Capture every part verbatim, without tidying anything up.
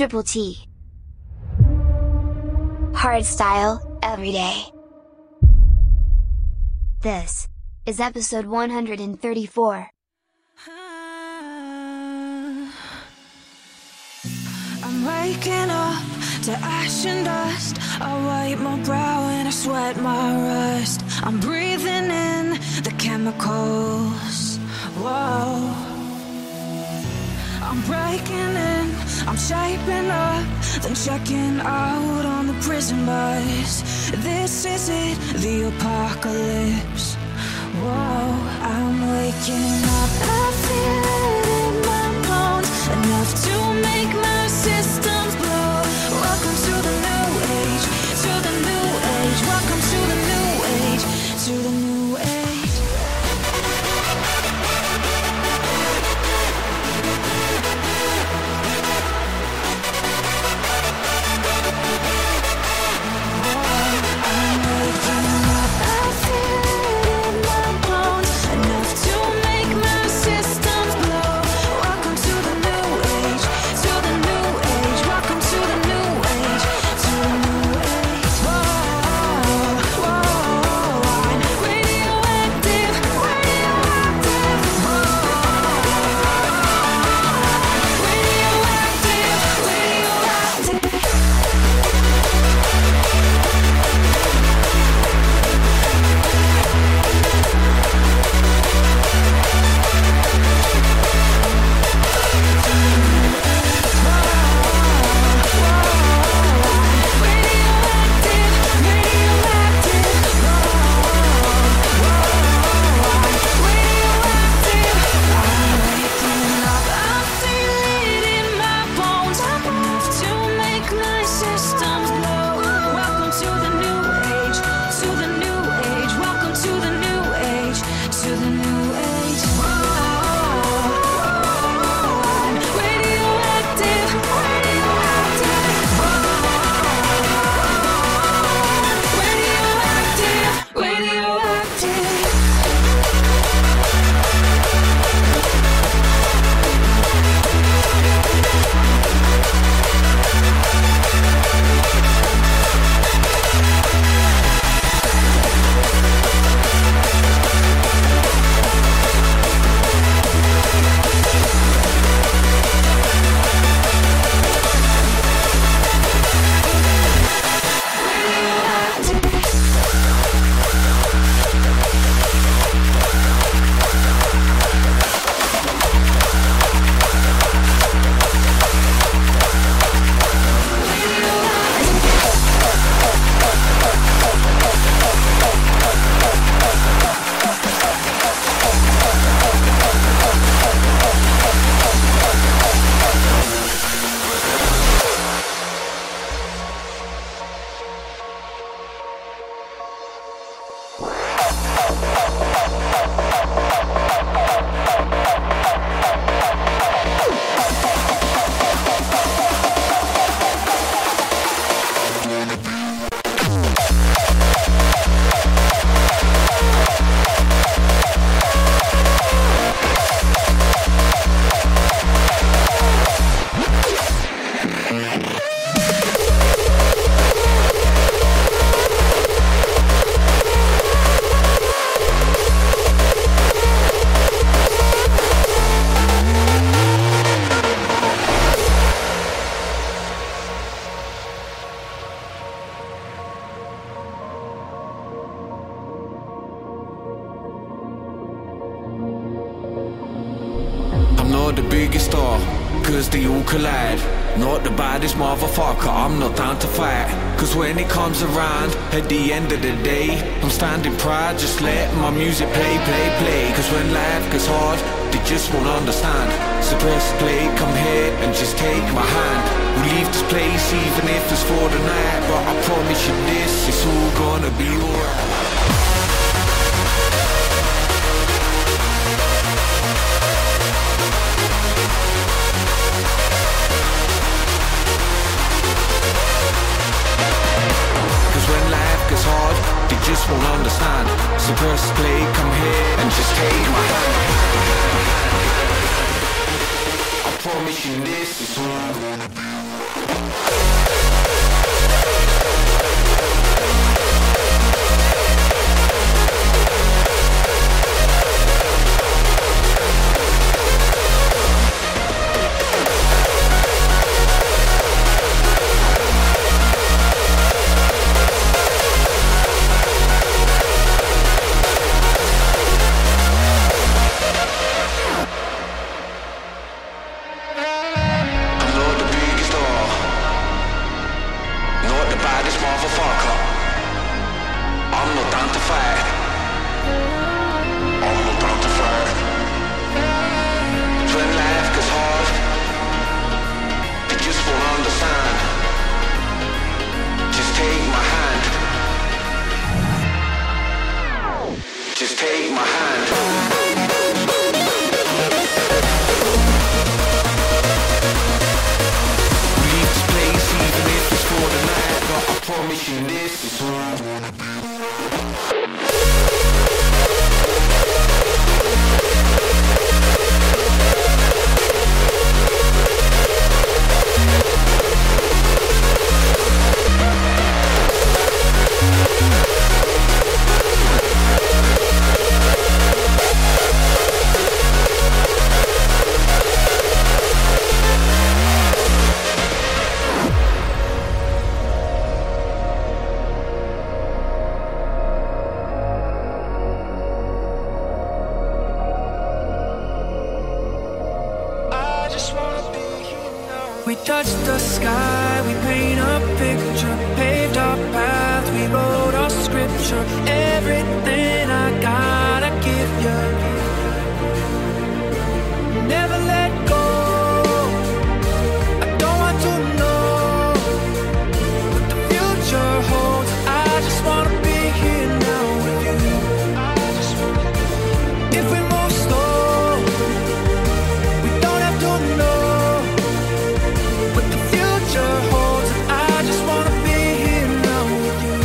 Triple T. Hardstyle, every day. This is episode one hundred thirty-four. I'm waking up to ash and dust. I wipe my brow and I sweat my rust. I'm breathing in the chemicals. Whoa. I'm breaking in, I'm shaping up, then checking out on the prison bus. This is it, the apocalypse. Whoa, I'm waking up, I feel it in my bones, enough to make my systems blow. Welcome to the new age, to the new age. Welcome to the new age, to the new age. The biggest star, cause they all collide. Not the baddest motherfucker, I'm not down to fight. Cause when it comes around, at the end of the day, I'm standing proud, just let my music play, play, play. Cause when life gets hard, they just won't understand. So press play, come here and just take my hand. We'll leave this place even if it's for the night, but I promise you this, it's all gonna be alright. Just won't understand. So press play, come here and just take my hand. I promise you this is all I'm gonna be. We touch the sky, we paint a picture, paved our path, we wrote our scripture. Everything I gotta give you, never let go. I don't want to know what the future holds. I just wanna be here now with you. If we move slow, we don't have to know what the future holds. I just wanna be here now with you.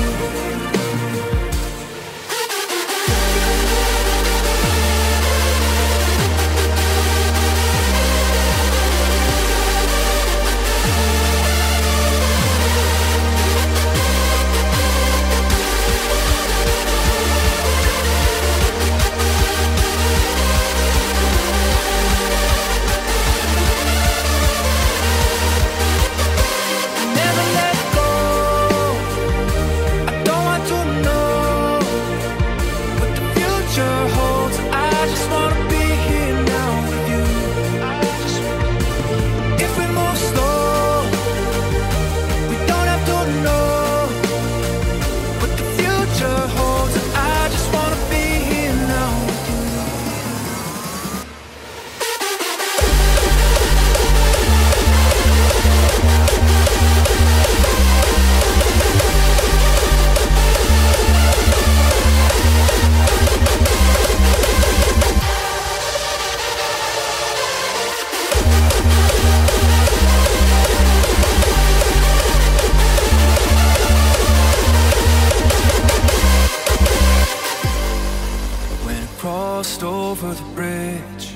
Never let go. I don't want to know what the future holds. I just wanna be here now with you. If we move slow, we don't have to know what the future holds. I just wanna be here now with you. When I crossed over the bridge,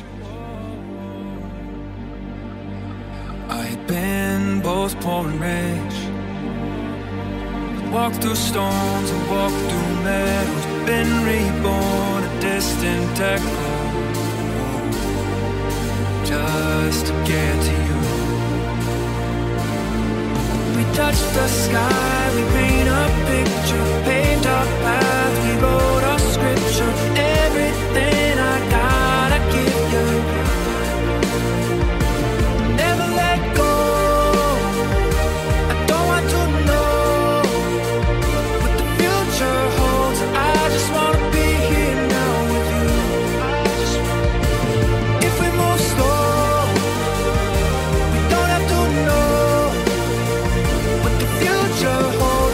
I had been both poor and rich. Walked through storms and walked through meadows, been reborn, a distant echo, just to get to you. We touch the sky, we paint a picture, paved our path, we wrote our scripture. Everything I gotta give you, never let go. I don't want to know what the future holds. I just wanna be here now with you. If we move slow, we don't have to know what the future holds.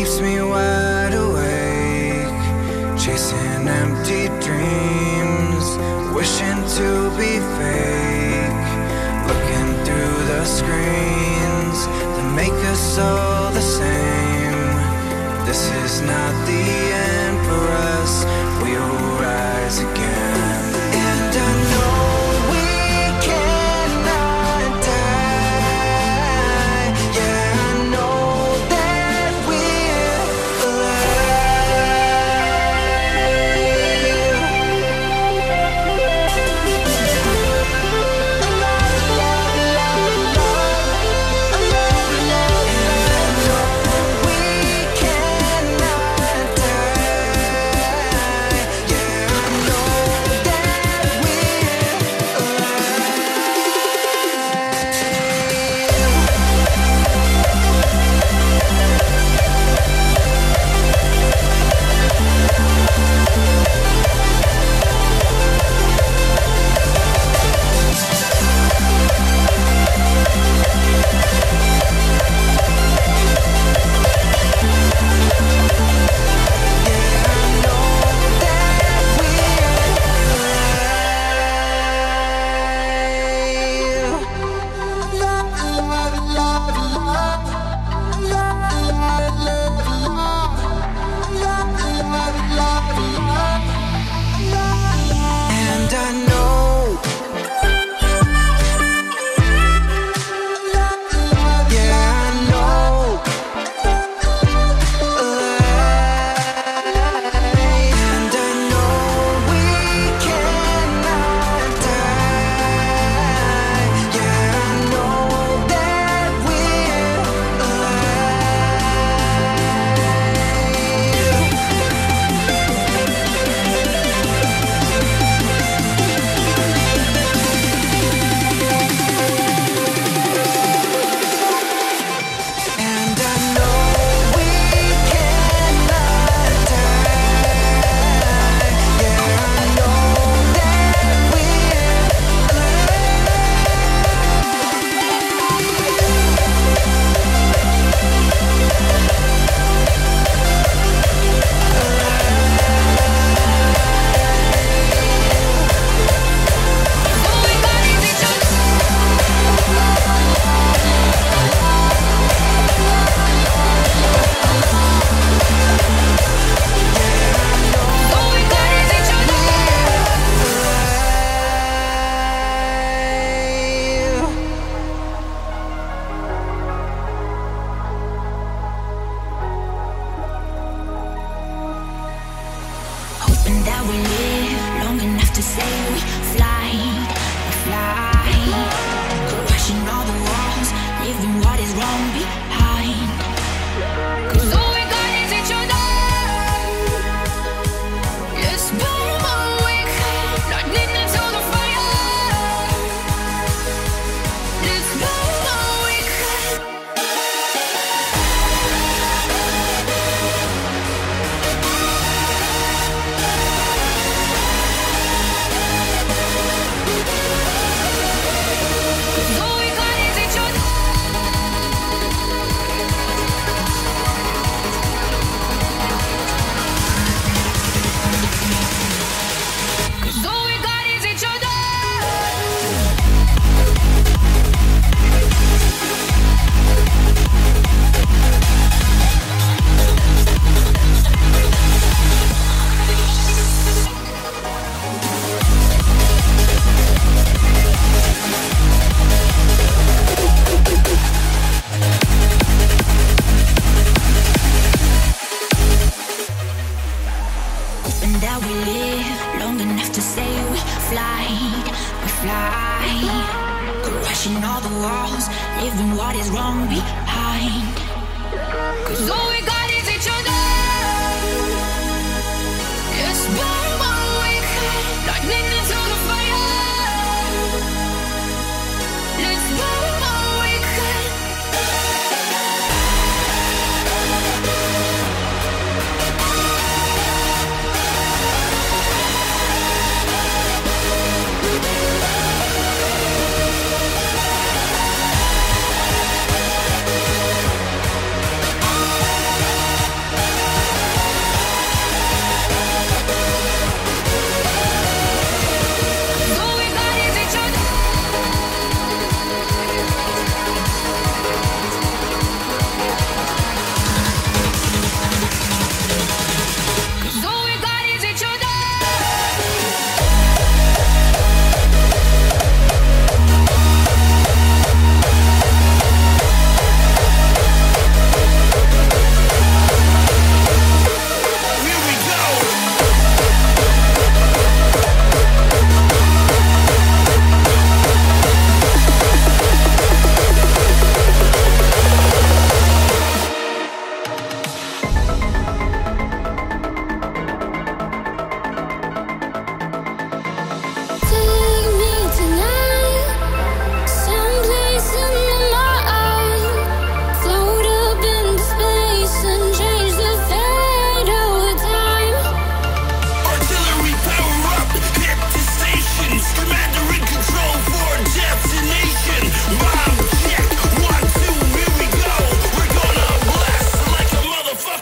keeps me wide awake, chasing empty dreams, wishing to be fake, looking through the screens that make us all the same. This is not the end for us, we will rise again. And I know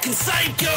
motherfucking psycho.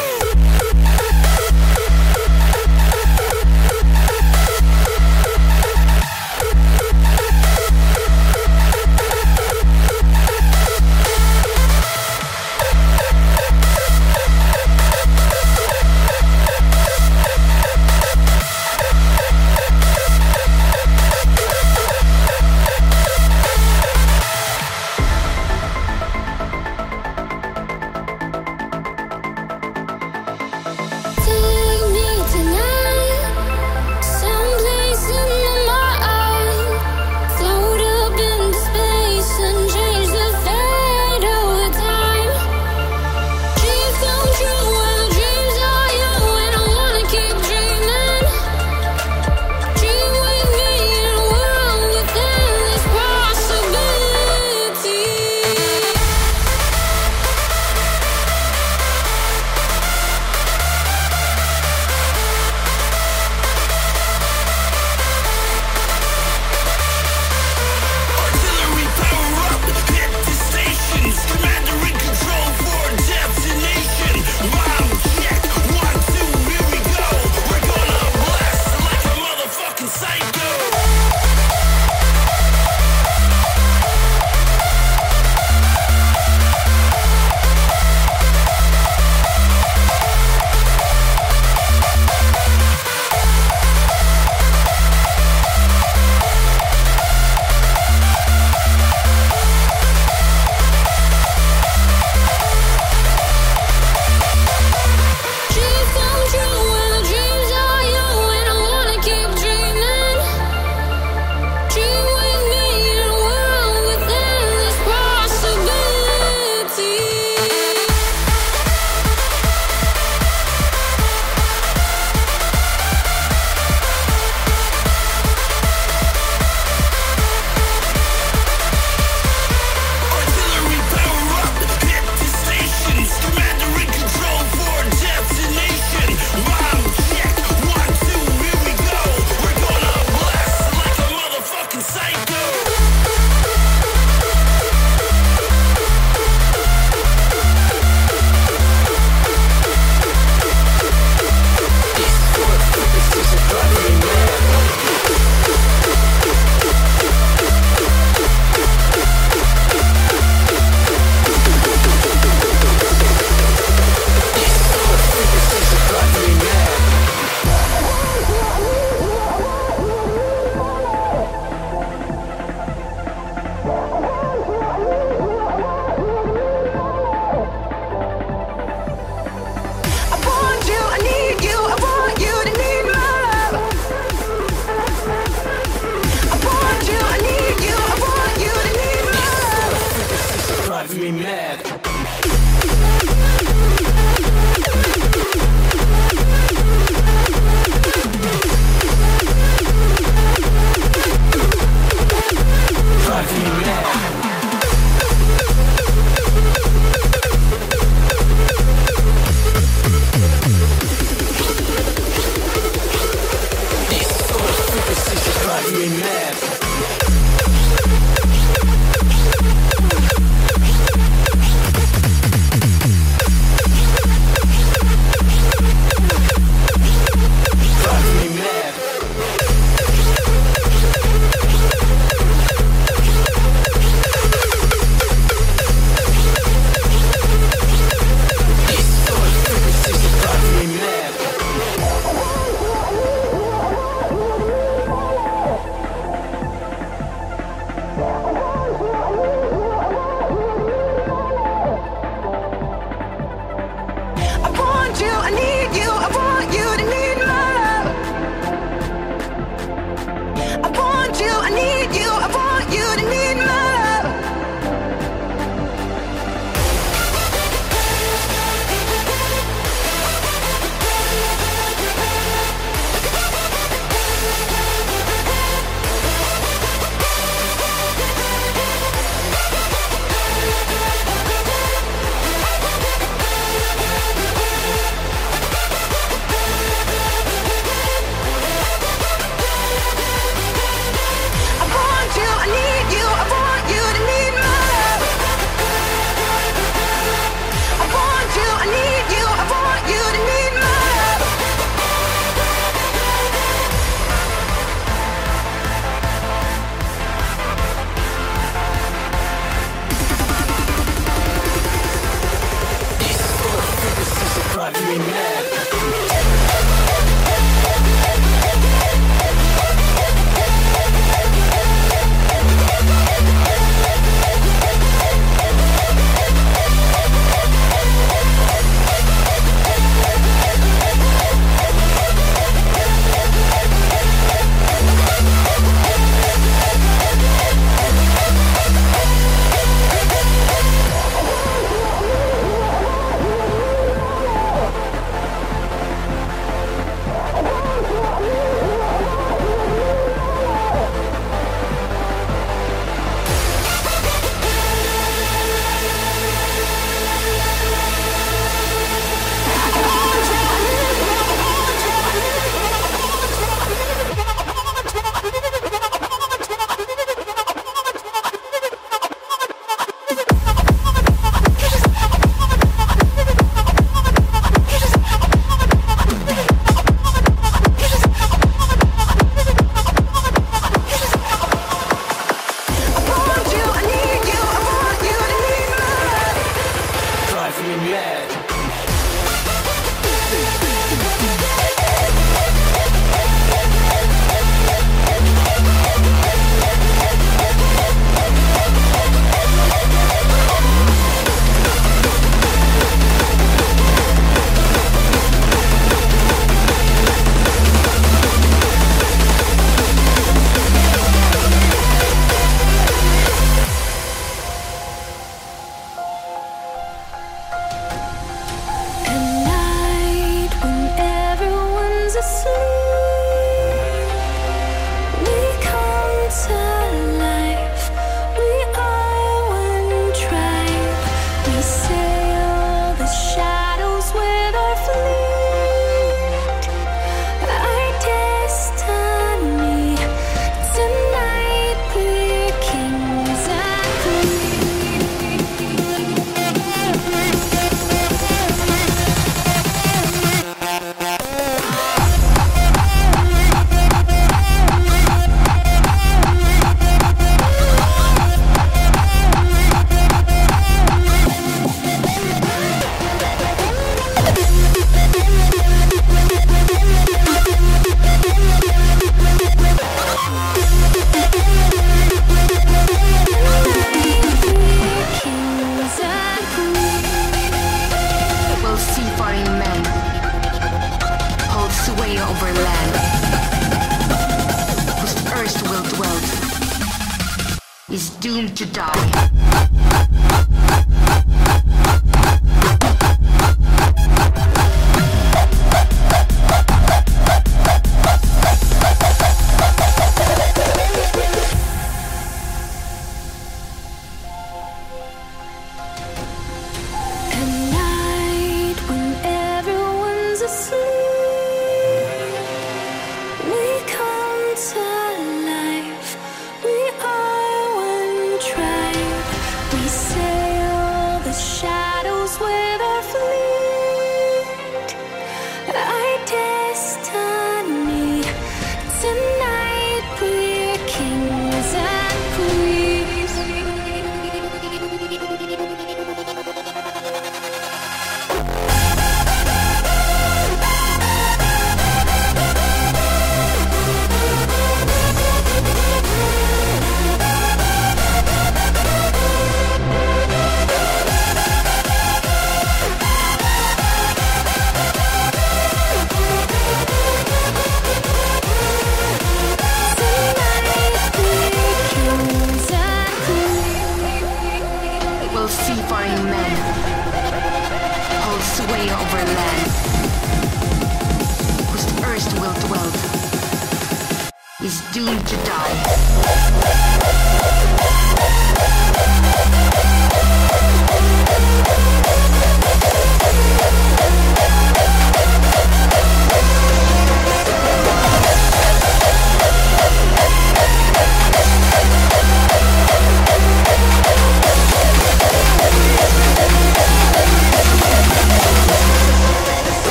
is doomed to die.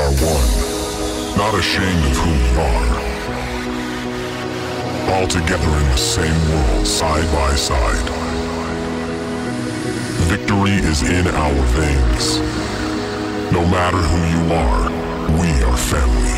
are one, not ashamed of who we are. All together in the same world, side by side. Victory is in our veins. No matter who you are, we are family.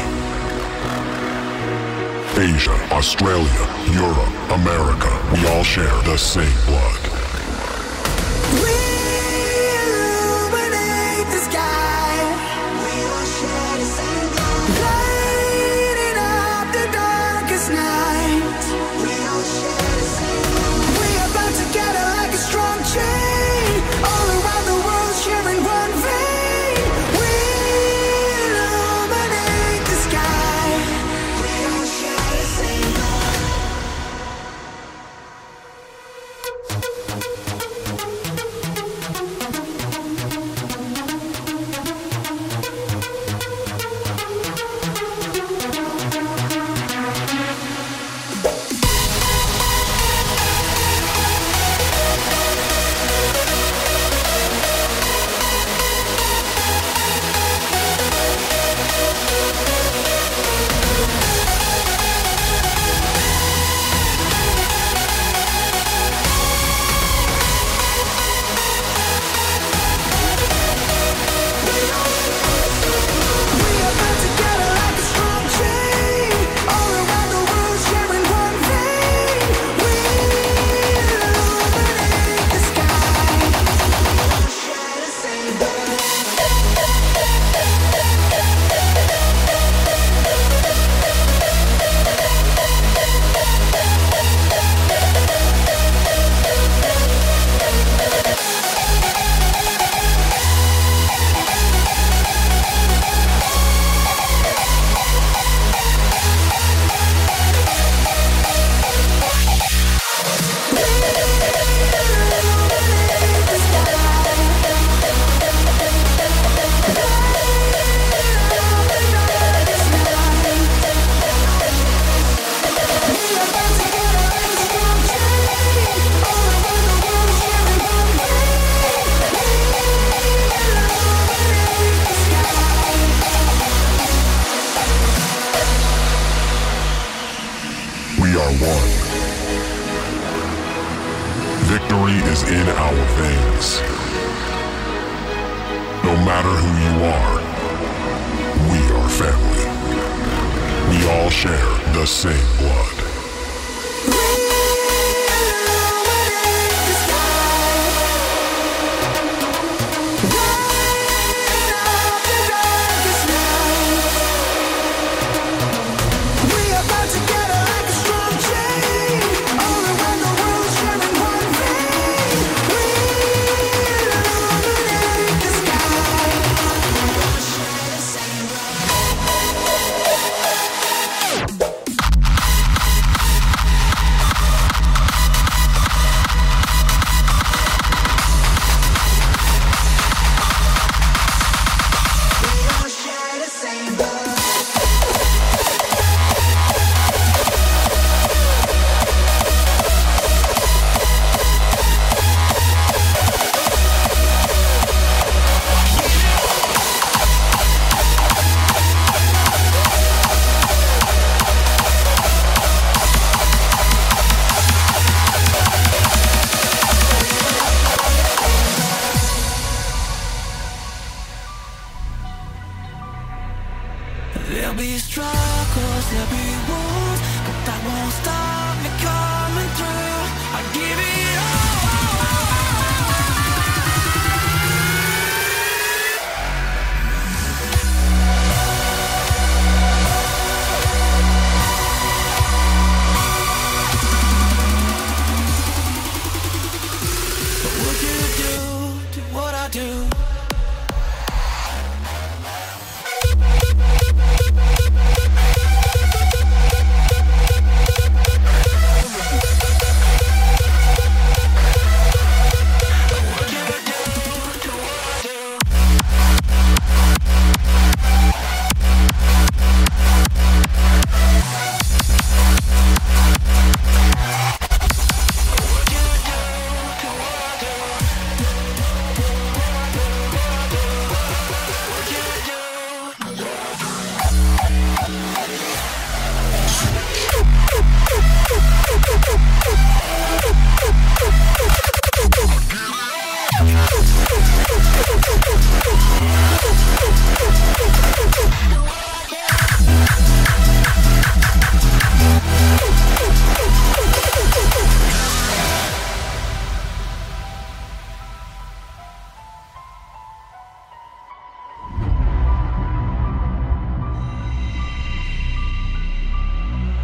Asia, Australia, Europe, America, we all share the same blood. We illuminate the sky. We all share the same blood. Lighting up the darkest night. We all share the same blood. We are bound together like a strong chain. All around the world sharing one vein. We illuminate the sky. We all share the same blood. We are one. Victory is in our veins. No matter who you are, we are family. We all share the same blood. There'll be struggles, there'll be wars, but that won't stop me coming through. I give it all. But would you do, do what I do?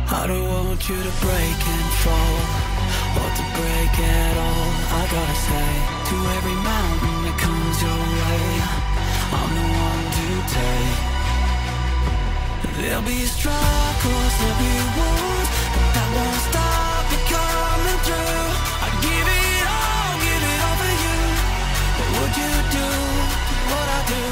I don't want you to break and fall, or to break at all. I gotta say, to every mountain that comes your way, I'm the one to take. There'll be struggles, there'll be wars, but that won't stop me coming through. I'd give it all, give it all for you. What would you do, what I do?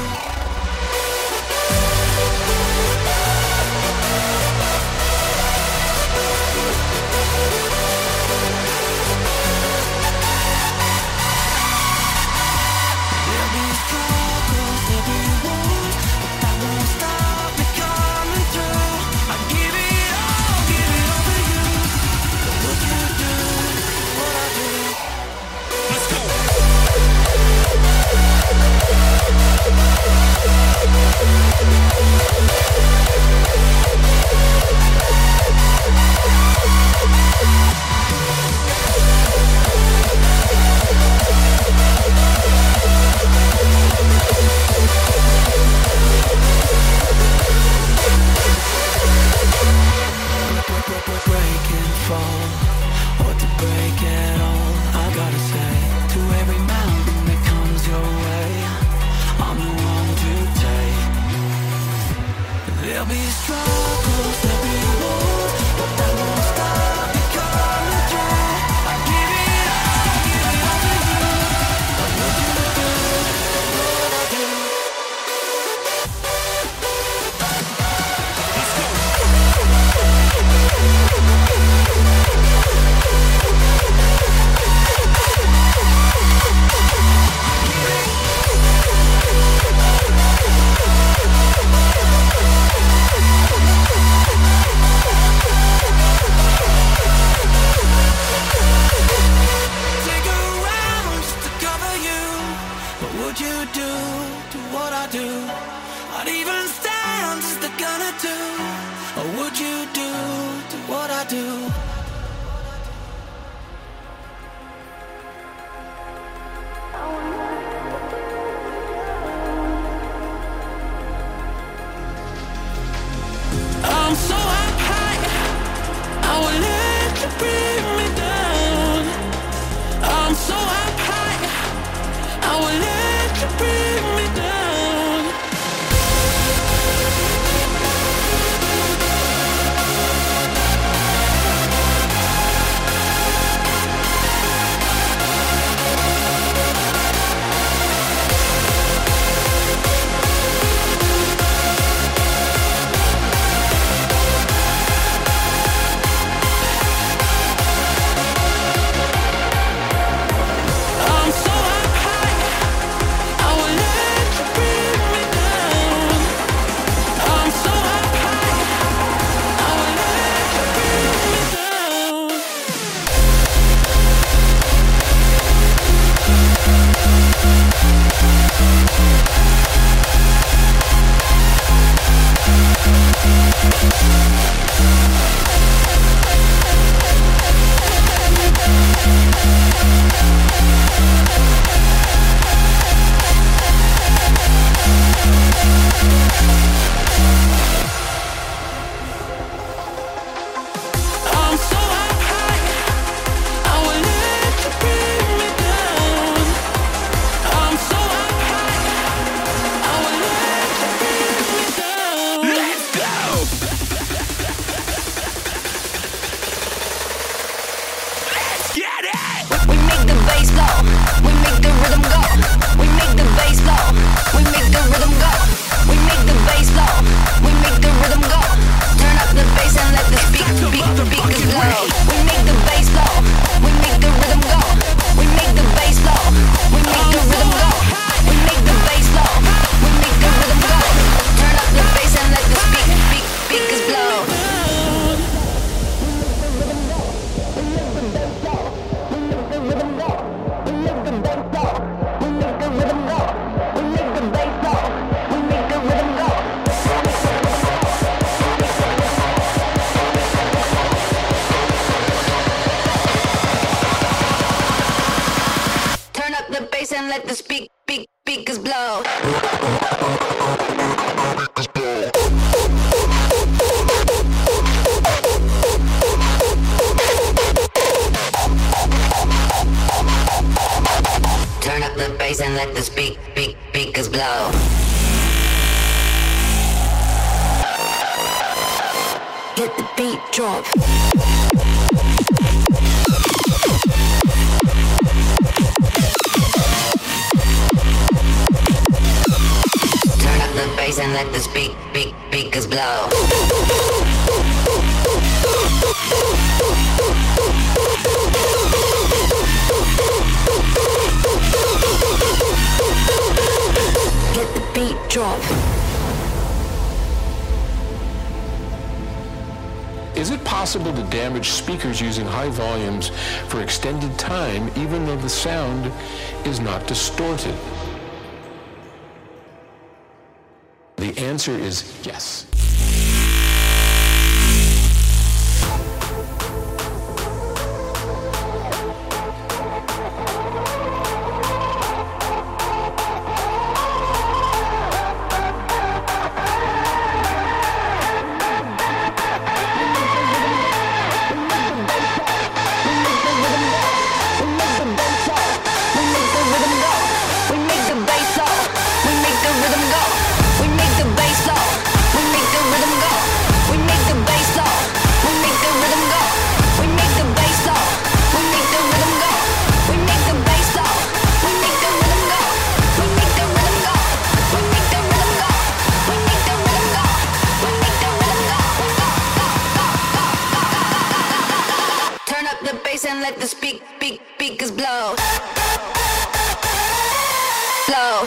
There'll be struggles, there'll be wars, but that won't stop me coming through. I'd give it all, give it all for you. What would you do, what I do? Let's go! Break and fall, or to break at all. I gotta say, to every mountain that comes your way, I'm the one to take. There'll be struggles, there'll be wars, but that won't stop me coming through. I give it all, give it all to you. What would you do, what I do? Let's go! Take a round just to cover you. What would you do to what I do? I'd even stand just to gonna do. What would you do to what I do? I'm so up high, I will let you bring me down. I'm so up high, I will let you bring me down. I'm so up high, I will let you bring me down. I'm so up high, I will let you bring me down. I'm so up high, I will let you bring me down. I'm so up high, I will let you bring me down. Let's go! Let's get it! We make the bass blow, we make the rhythm go. We make the bass blow, we make the rhythm go. We make the bass blow, we make the rhythm go. Turn up the bass and let the speak, speak, speakers blow. We make the bass blow, we make the rhythm go. We make the bass blow, we make the rhythm go. We make the bass blow, we make the rhythm go. Turn up the bass and let the speak, speak, speakers blow. Turn up the bass and let the speak, speak, speakers blow. bass and let the speak, speak, speakers blow. Let the beat drop. Turn up the bass and let the speak, speak, speakers blow. Let the beat drop. Is it possible to damage speakers using high volumes for extended time even though the sound is not distorted? The answer is yes. And let the speak, speak, speakers blow. Blow.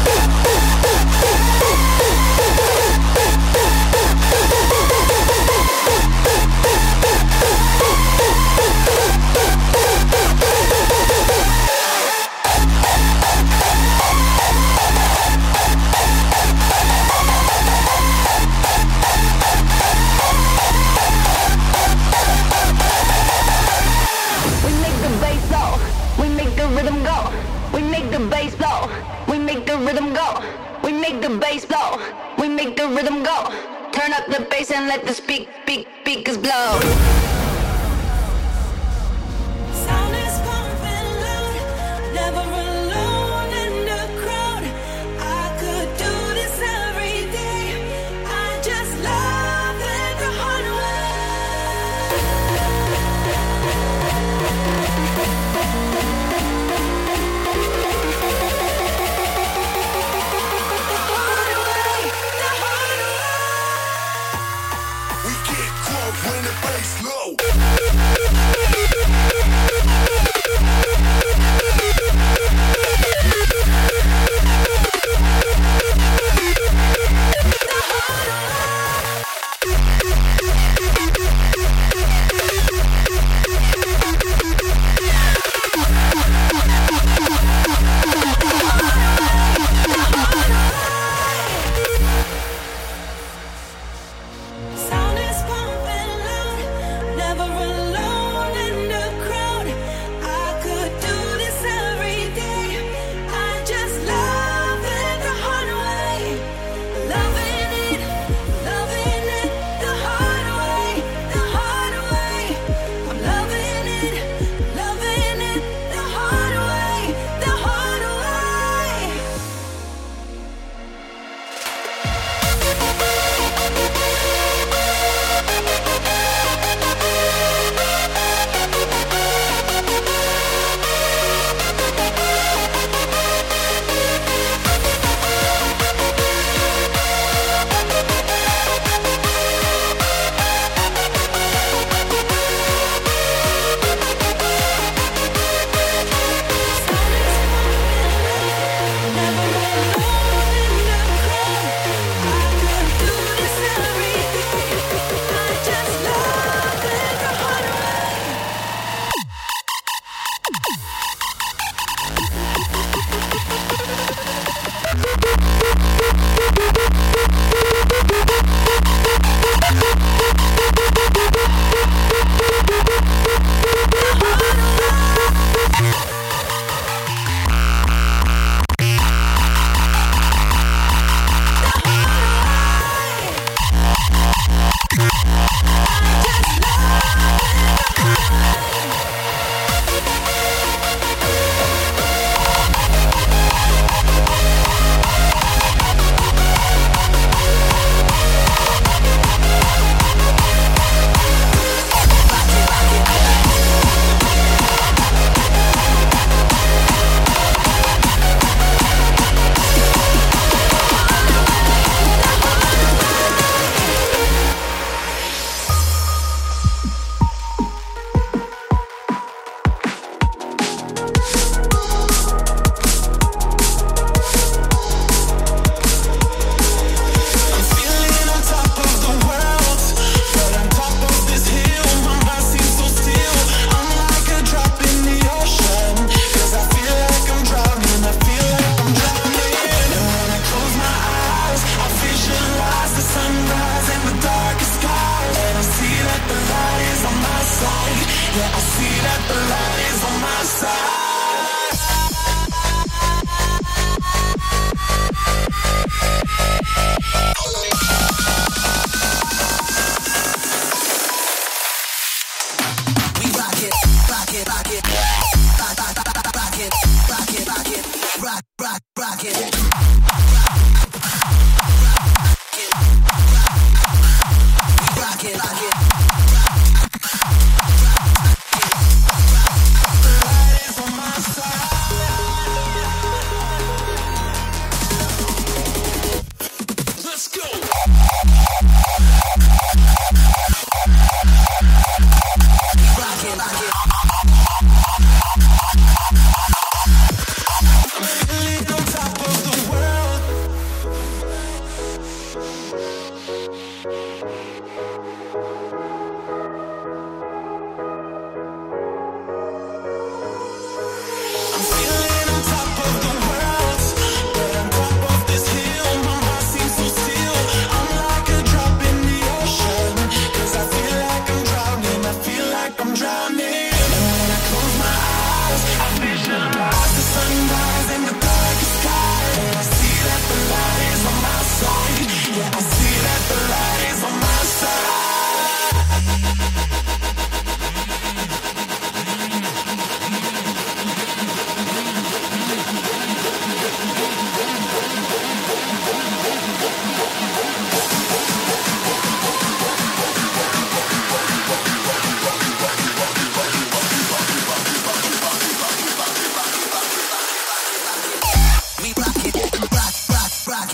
Rhythm go, we make the bass blow. We make the rhythm go, we make the bass blow. We make the rhythm go. Turn up the bass and let the speak, speak, speakers blow. Sound is pumping loud, never alone in the crowd. I could do this every day. I just love it the hard way. When the bass low.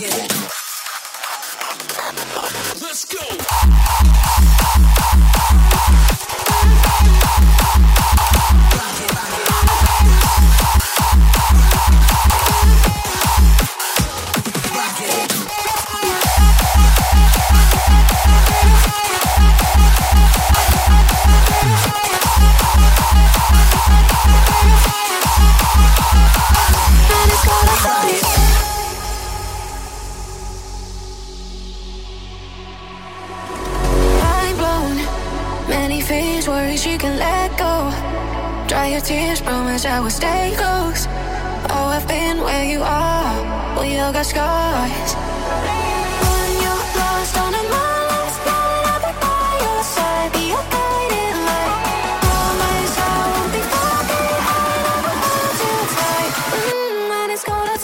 Let's go. You can let go. Dry your tears, promise I will stay close. Oh, I've been where you are. We all got scars. When you're lost on a mindless night, I'll be by your side, be your guiding light. Promise I won't be far behind. I will hold you tight. Mmm, and it's gonna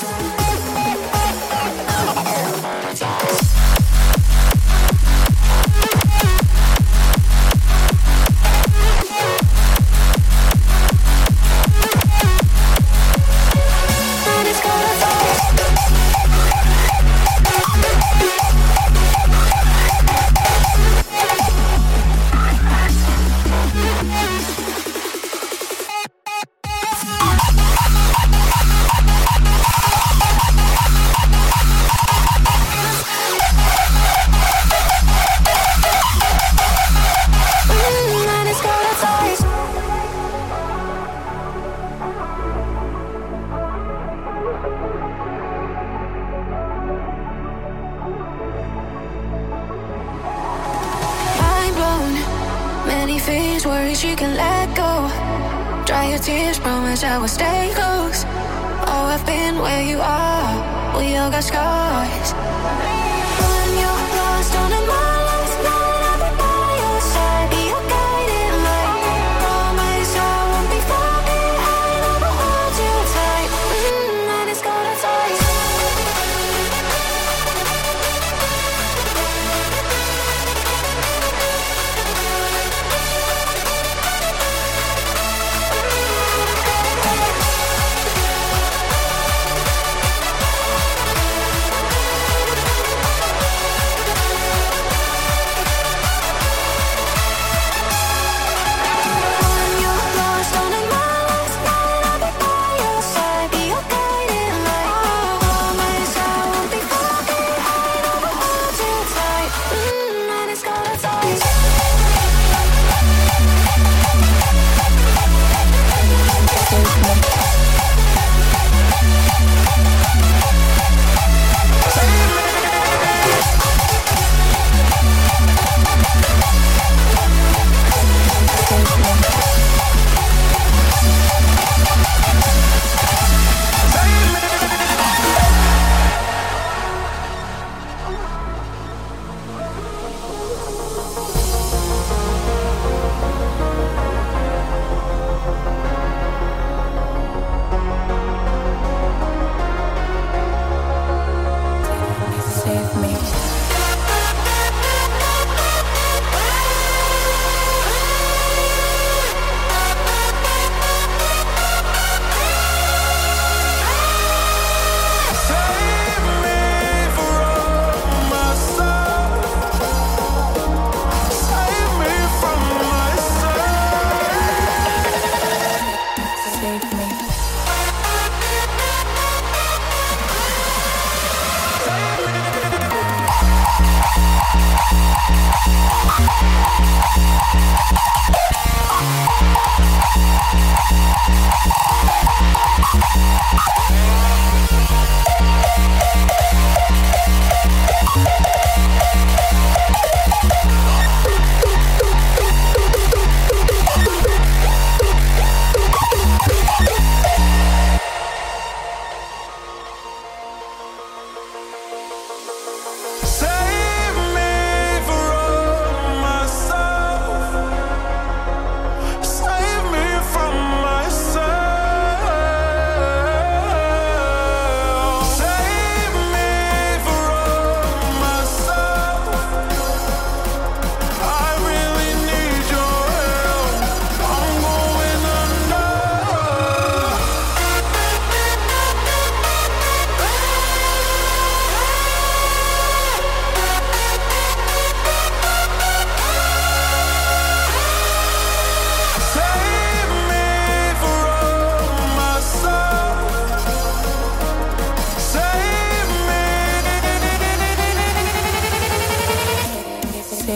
you can let go. Dry your tears, promise I will stay close. Oh, I've been where you are. We all got scars. When you're lost on a mindless night, I'll be by your side, be your guiding light. Promise I won't be far behind. I will hold you tight. Mmm, and it's gonna taste.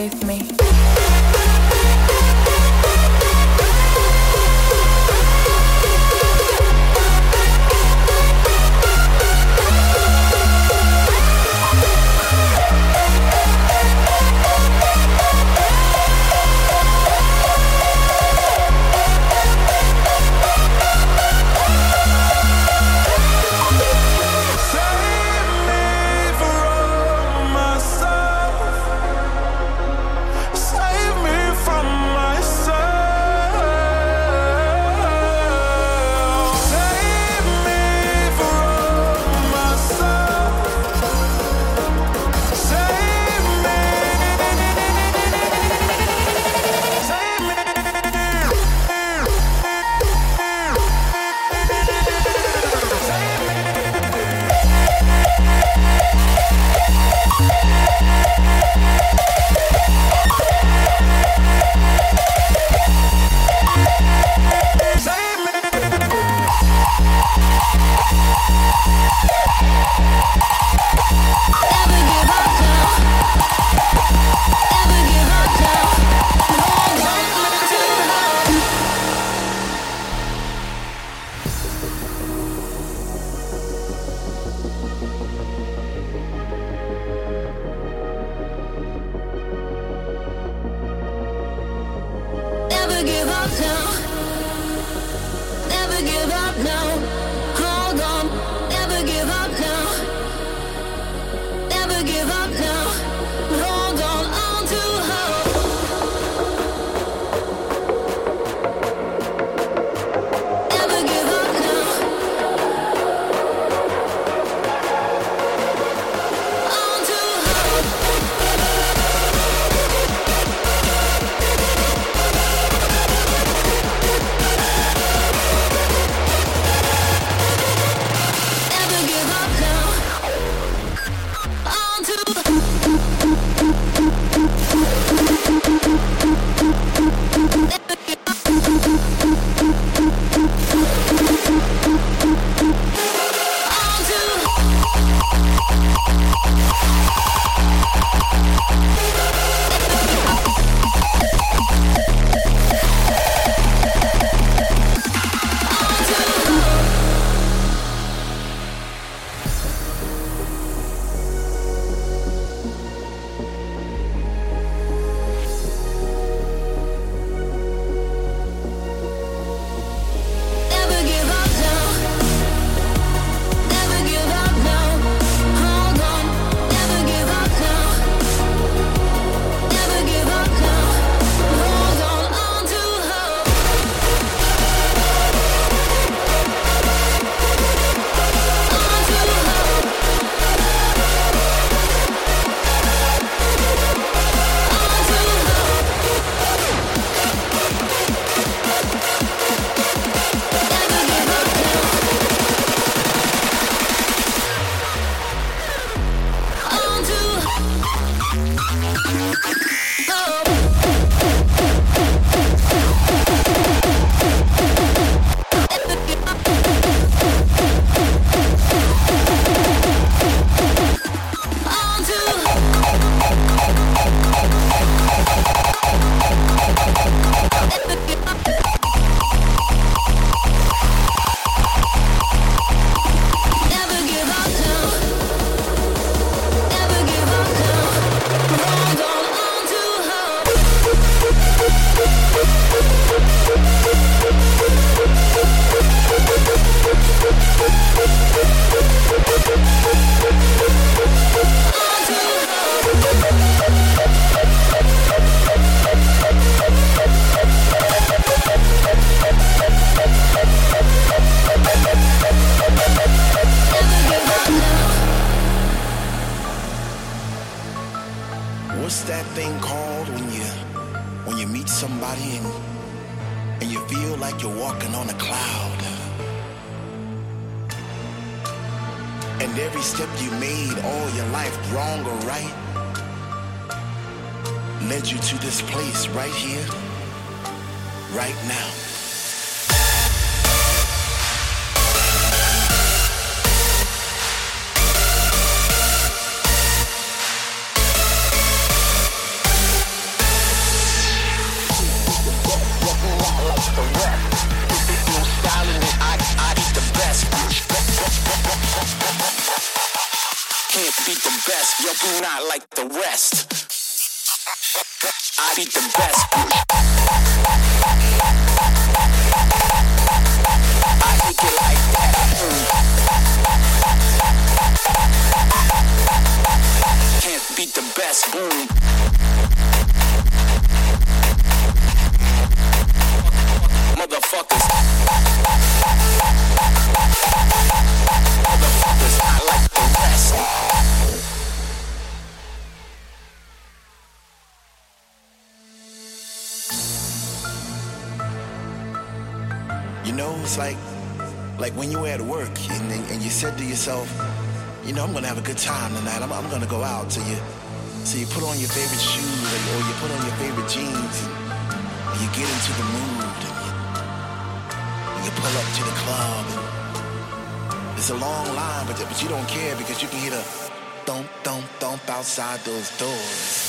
save me. like the rest. No styling it, I, I beat the best. Can't beat the best, yo, do not like the rest. I beat the best. I think it like that. Mm. Can't beat the best. Boom. Motherfuckers. Motherfuckers, I like the rest. You know, it's like, like when you were at work and, and you said to yourself, you know, I'm gonna have a good time tonight. I'm, I'm gonna go out. So you, so you put on your favorite shoes, or, or you put on your favorite jeans, and you get into the mood, and you, and you pull up to the club, and it's a long line, but but you don't care because you can hear the thump, thump, thump outside those doors.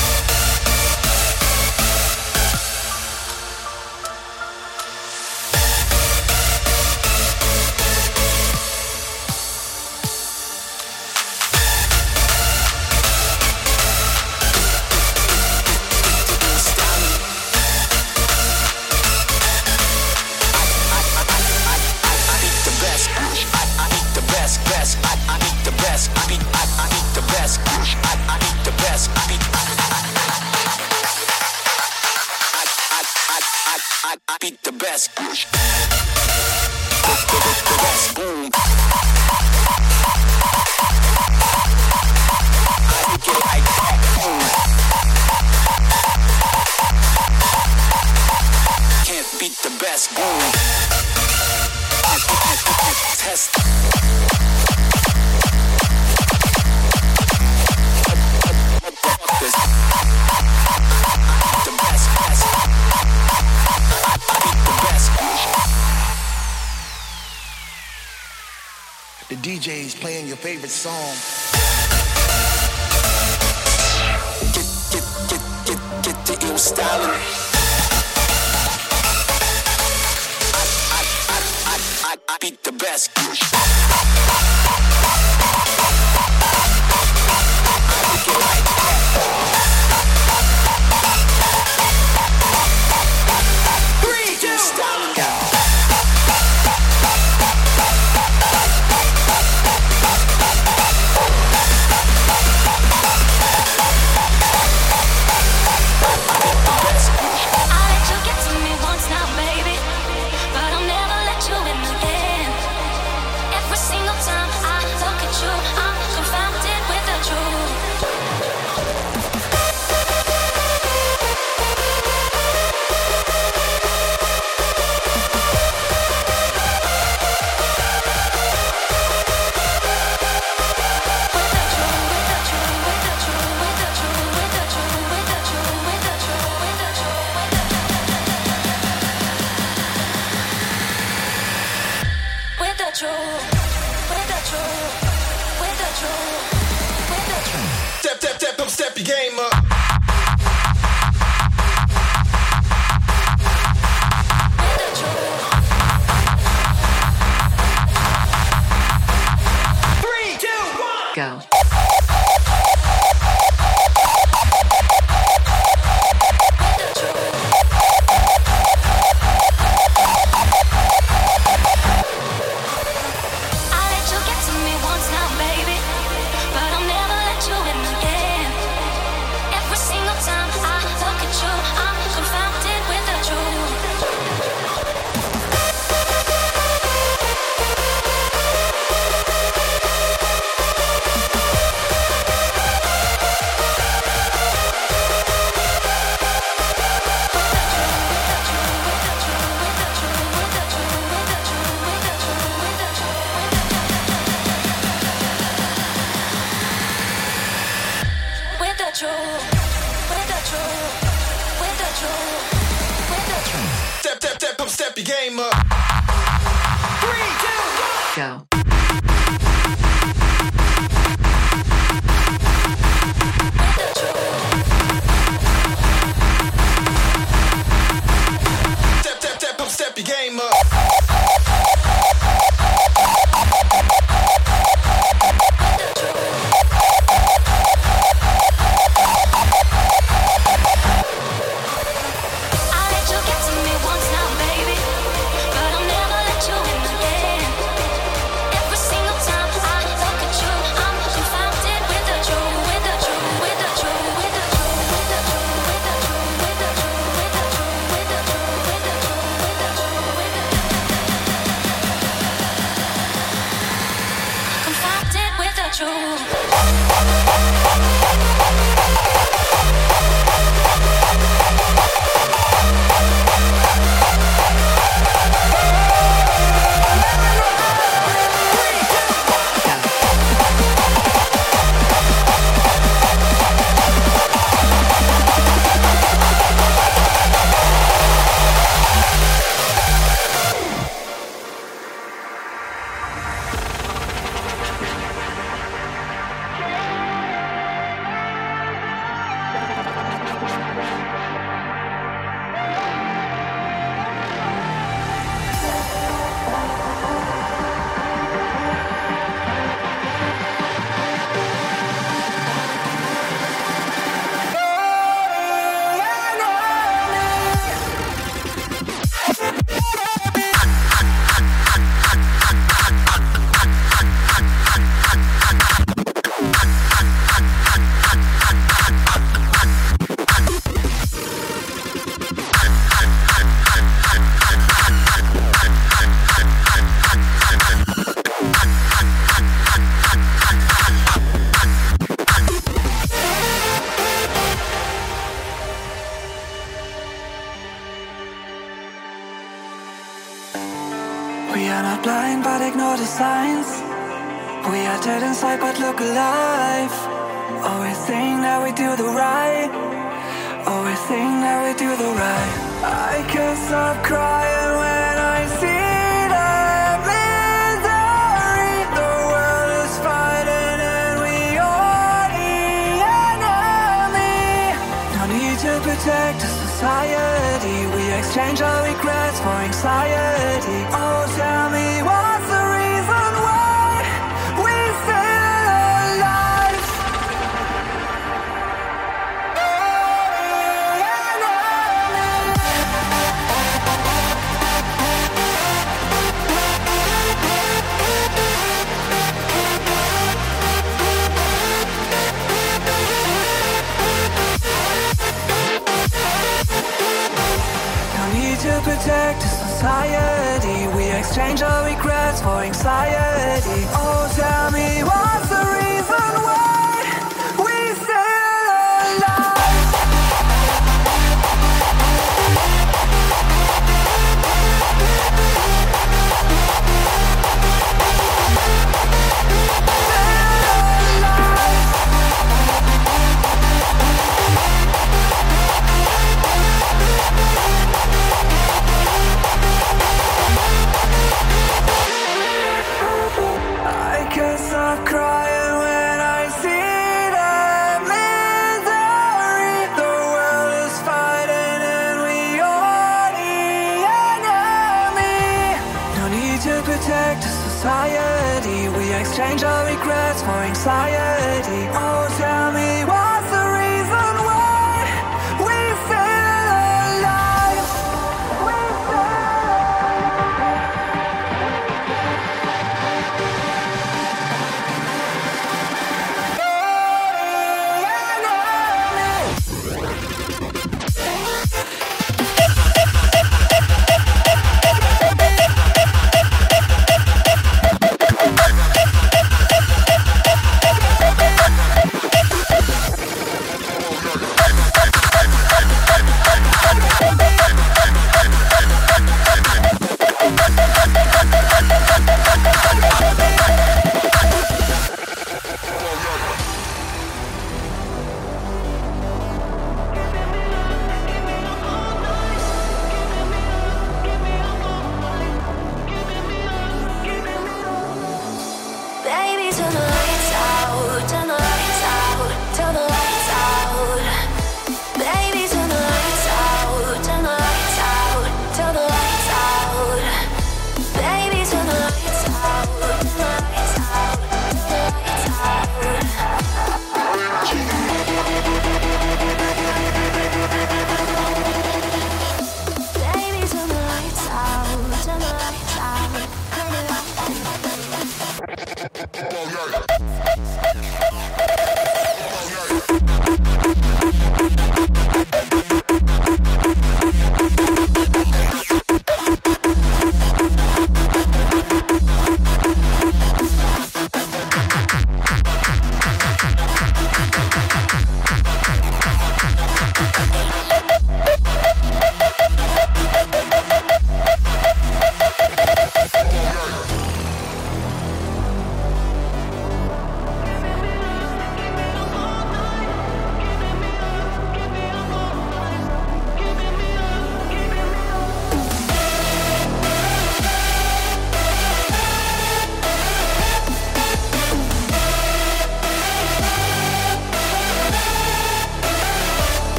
The D J's playing your favorite song. Get, get, get, get, get the ill styling. I, I, I, I, I beat the best. Three, two, styling down. Step, step, step, come step your game up. Three, two, one, go. Step, step, step, come step your game up. three, two, one, go. Step, step, step. blind but ignore the signs. We are dead inside but look alive. Always think that we do the right. Always think that we do the right. I can't stop crying when I see that misery. The world is fighting and we are the enemy. No need to protect the society. We exchange our regrets for anxiety. Oh, tell me what's the reason why we still alive? To protect the society, we exchange our regrets for anxiety. Oh, tell me what's the reason why we still alive? Stop crying when I see that misery. The world is fighting and we are the enemy. No need to protect the society. We exchange our regrets for anxiety. Oh, tell me what's the reason why we still alive? We still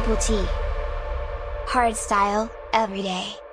Triple T. Hardstyle, every day.